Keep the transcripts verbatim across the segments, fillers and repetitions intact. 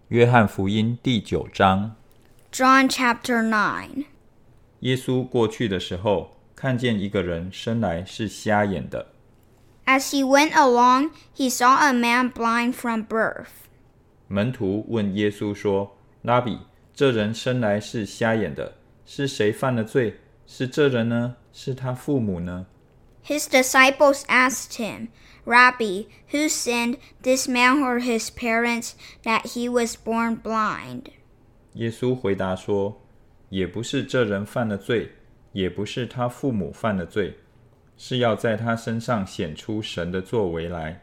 约翰福音第九章。 John chapter nine. 耶稣过去的时候，看见一个人生来是瞎眼的。 As he went along, he saw a man blind from birth. 门徒问耶稣说：拉比，这人生来是瞎眼的，是谁犯了罪？是这人呢？是他父母呢？ His disciples asked him, Rabbi, who sinned, this man or his parents, that he was born blind? 耶稣回答说：也不是这人犯了罪，也不是他父母犯了罪，是要在他身上显出神的作为来。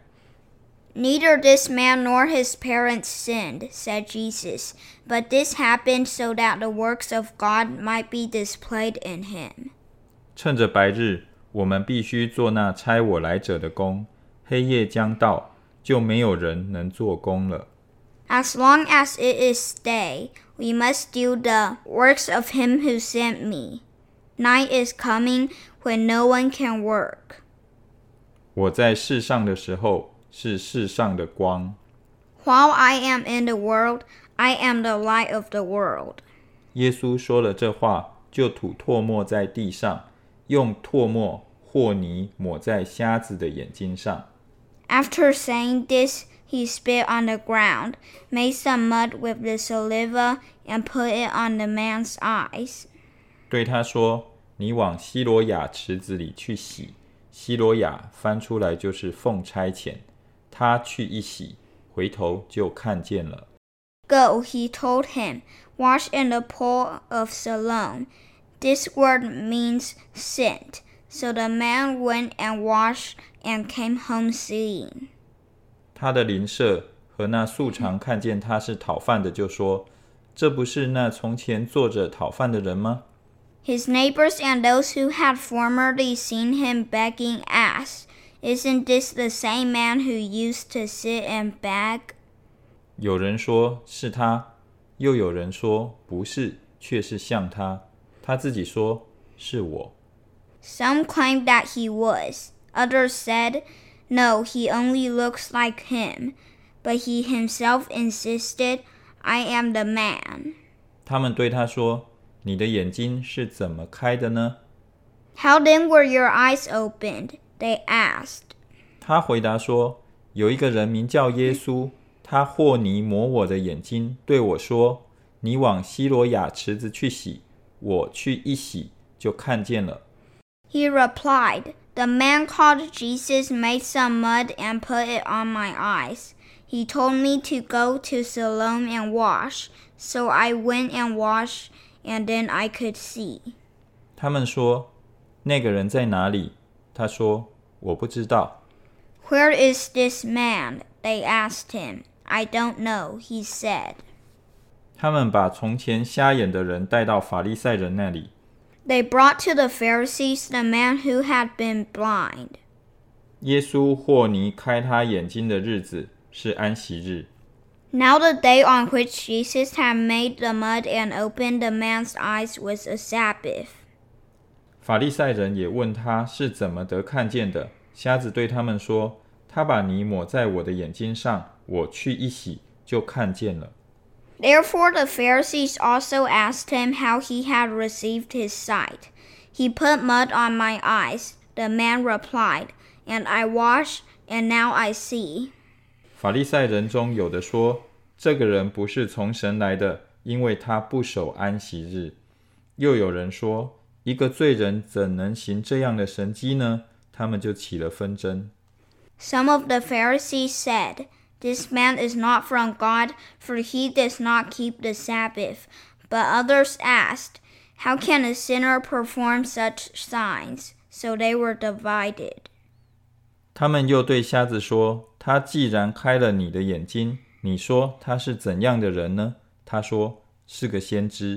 Neither this man nor his parents sinned, said Jesus, but this happened so that the works of God might be displayed in him. 趁着白日，我们必须做那差我来者的工，黑夜将到，就没有人能做工了。 As long as it is day, we must do the works of him who sent me. Night is coming when no one can work. 我在世上的时候，是世上的光。 While I am in the world, I am the light of the world. 耶稣说了这话，就吐唾沫在地上，用唾沫和泥抹在瞎子的眼睛上。 After saying this, he spit on the ground, made some mud with the saliva, and put it on the man's eyes. 对他说：你往西罗亚池子里去洗。西罗亚翻出来就是奉差遣。他去一洗，回头就看见了。 Go, he told him, wash in the pool of Siloam. This word means sent. So the man went and washed and came home seeing. 他的邻舍和那素常看见他是讨饭的，就说：这不是那从前坐着讨饭的人吗？ His neighbors and those who had formerly seen him begging asked, Isn't this the same man who used to sit and beg? 有人说是他，又有人说不是，却是像他。他自己说是我。 Some claimed that he was. Others said, No, he only looks like him. But he himself insisted, I am the man. 他们对他说：你的眼睛是怎么开的呢？ How then were your eyes opened? They asked. 他回答说：有一个人名叫耶稣，他和泥抹我的眼睛，对我说：你往西罗亚池子去洗。我去一洗，就看见了。 He replied, The man called Jesus made some mud and put it on my eyes. He told me to go to Siloam and wash. So I went and washed, and then I could see. 他们说：那个人在哪里？他说：我不知道。 Where is this man? They asked him. I don't know, he said. 他们把从前瞎眼的人带到法利赛人那里。 They brought to the Pharisees the man who had been blind. 耶稣和泥开他眼睛的日子是安息日。 Now the day on which Jesus had made the mud and opened the man's eyes was a Sabbath. 法利赛人也问他是怎么得看见的。瞎子对他们说：他把泥抹在我的眼睛上，我去一洗，就看见了。 Therefore the Pharisees also asked him how he had received his sight. He put mud on my eyes, the man replied, and I washed, and now I see. 法利赛人中有的说：这个人不是从神来的，因为他不守安息日。又有人说：一个罪人怎能行这样的神迹呢？他们就起了纷争。 Some of the Pharisees said, This man is not from God, for he does not keep the Sabbath. But others asked, How can a sinner perform such signs? So they were divided. 他们又对瞎子说：他既然开了你的眼睛，你说他是怎样的人呢？他说：是个先知。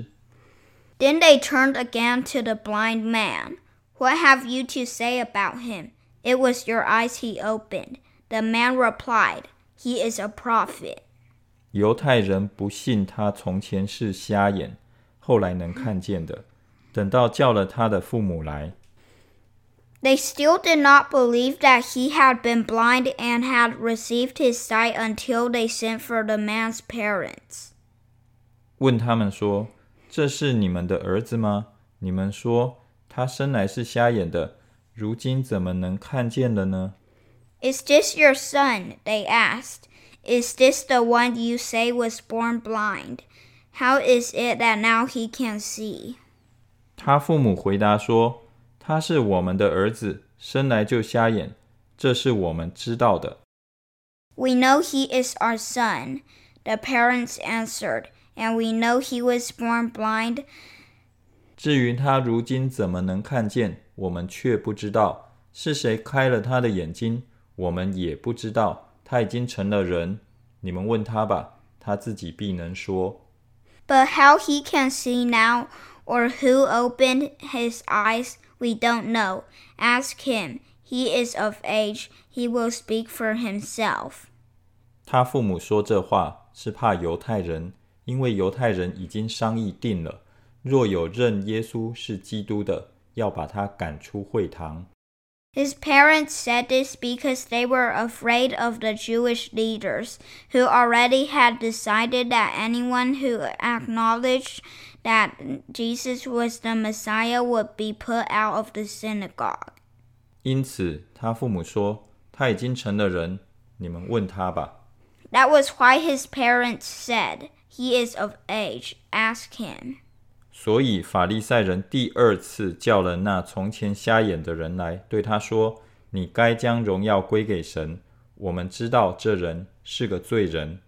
Then they turned again to the blind man. What have you to say about him? It was your eyes he opened. The man replied, He is a prophet. 犹太人不信他从前是瞎眼，后来能看见的，等到叫了他的父母来。 They still did not believe that he had been blind and had received his sight until they sent for the man's parents. 问他们说，这是你们的儿子吗？你们说他生来是瞎眼的，如今怎么能看见了呢？ Is this your son? They asked. Is this the one you say was born blind? How is it that now he can see? 他父母回答说，他是我们的儿子，生来就瞎眼，这是我们知道的。 We know he is our son, the parents answered, and we know he was born blind. 至于他如今怎么能看见，我们却不知道，是谁开了他的眼睛，我们也不知道。他已经成了人，你们问他吧，他自己必能说。 But how he can see now, or who opened his eyes, we don't know. Ask him. He is of age. He will speak for himself. 他父母说这话是怕犹太人，因为犹太人已经商议定了，若有认耶稣是基督的，要把他赶出会堂。 His parents said this because they were afraid of the Jewish leaders, who already had decided that anyone who acknowledged that Jesus was the Messiah would be put out of the synagogue. 因此他父母说，他已经成了人，你们问他吧。 That was why his parents said, He is of age. Ask him. 所以法利赛人第二次叫了那从前瞎眼的人来，对他说，你该将荣耀归给神，我们知道这人是个罪人。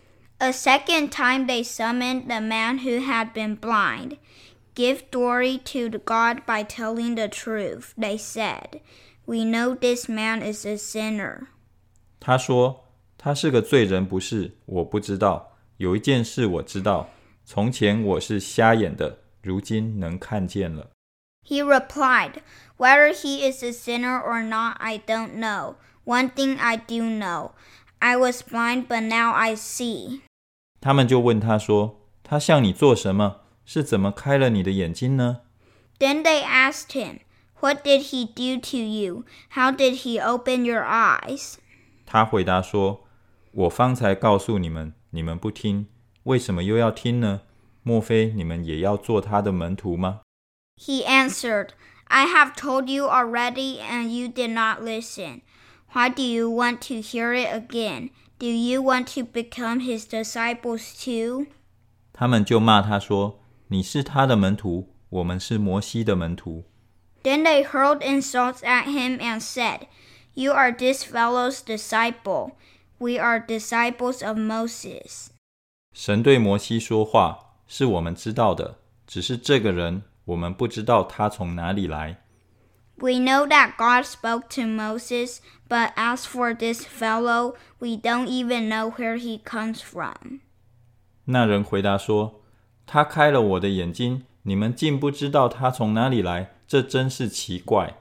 A second time they summoned the man who had been blind. Give glory to God by telling the truth, they said. We know this man is a sinner. 他说，他是个罪人不是，我不知道。有一件事我知道，从前我是瞎眼的，如今能看见了。 He replied, Whether he is a sinner or not, I don't know. One thing I do know. I was blind, but now I see. 他们就问他说，他向你做什么？是怎么开了你的眼睛呢？ Then they asked him, What did he do to you? How did he open your eyes? 他回答说，我方才告诉你们，你们不听，为什么又要听呢？莫非你们也要做他的门徒吗？ He answered, I have told you already, and you did not listen. Why do you want to hear it again? Do you want to become his disciples too? 他们就骂他说，你是他的门徒，我们是摩西的门徒。 Then they hurled insults at him and said, You are this fellow's disciple. We are disciples of Moses. 神对摩西说话，是我们知道的，只是这个人，我们不知道他从哪里来。 We know that God spoke to Moses, but as for this fellow, we don't even know where he comes from. 那人回答说，他开了我的眼睛，你们竟不知道他从哪里来，这真是奇怪。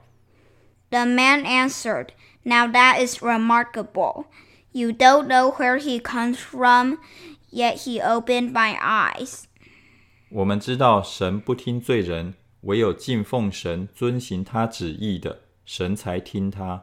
The man answered, Now that is remarkable. You don't know where he comes from, yet he opened my eyes. 我们知道神不听罪人，唯有敬奉神、遵行他旨意的，神才听他。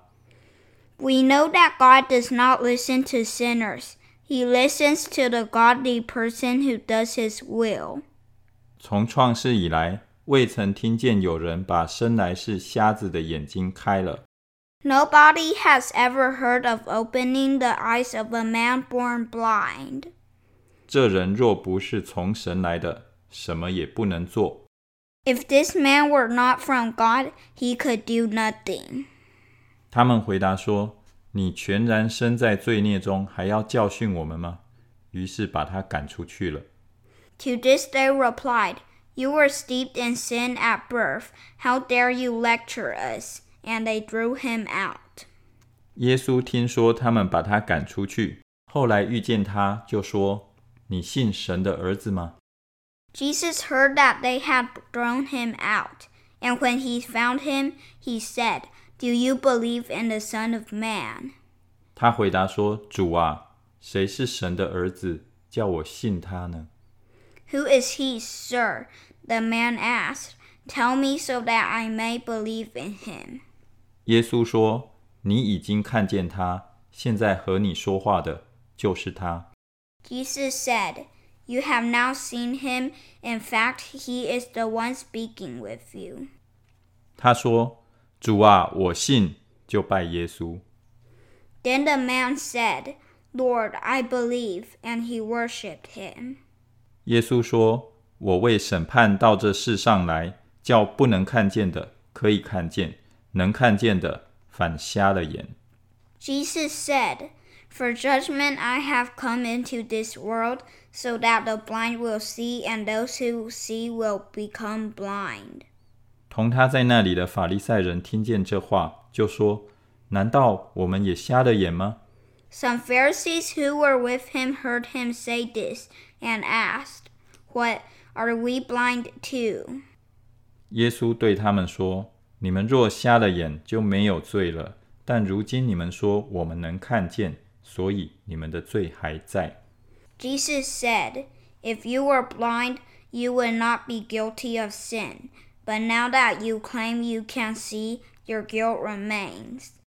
We know that God does not listen to sinners. He listens to the godly person who does his will. 从创世以来，未曾听见有人把生来是瞎子的眼睛开了。 Nobody has ever heard of opening the eyes of a man born blind. 这人若不是从神来的，什么也不能做。 If this man were not from God, he could do nothing. 他们回答说，你全然身在罪孽中，还要教训我们吗？于是把他赶出去了。 To this they replied, You were steeped in sin at birth. How dare you lecture us? And they drew him out. 耶稣听说他们把他赶出去，后来遇见他，就说，你信神的儿子吗？ Jesus heard that they had thrown him out, and when he found him, he said, Do you believe in the Son of Man? 他回答说，主啊，谁是神的儿子，叫我信他呢？ Who is he, sir? The man asked. Tell me so that I may believe in him. 耶稣说，你已经看见他，现在和你说话的就是他。 Jesus said, You have now seen him. In fact, he is the one speaking with you. 他说，主啊，我信，就拜耶稣。 Then the man said, Lord, I believe, and he worshipped him. 耶稣说，我为审判到这世上来，叫不能看见的可以看见，能看见的反瞎了眼。 Jesus said, For judgment I have come into this world, so that the blind will see, and those who see will become blind. 同他在那里的法利赛人听见这话，就说，难道我们也瞎了眼吗？ Some Pharisees who were with him heard him say this, and asked, What, are we blind too? 耶稣对他们说，你们若瞎了眼，就没有罪了。但如今你们说我们能看见，所以你们的罪还在。 Jesus said, If you were blind, you would not be guilty of sin. But now that you claim you can see, your guilt remains.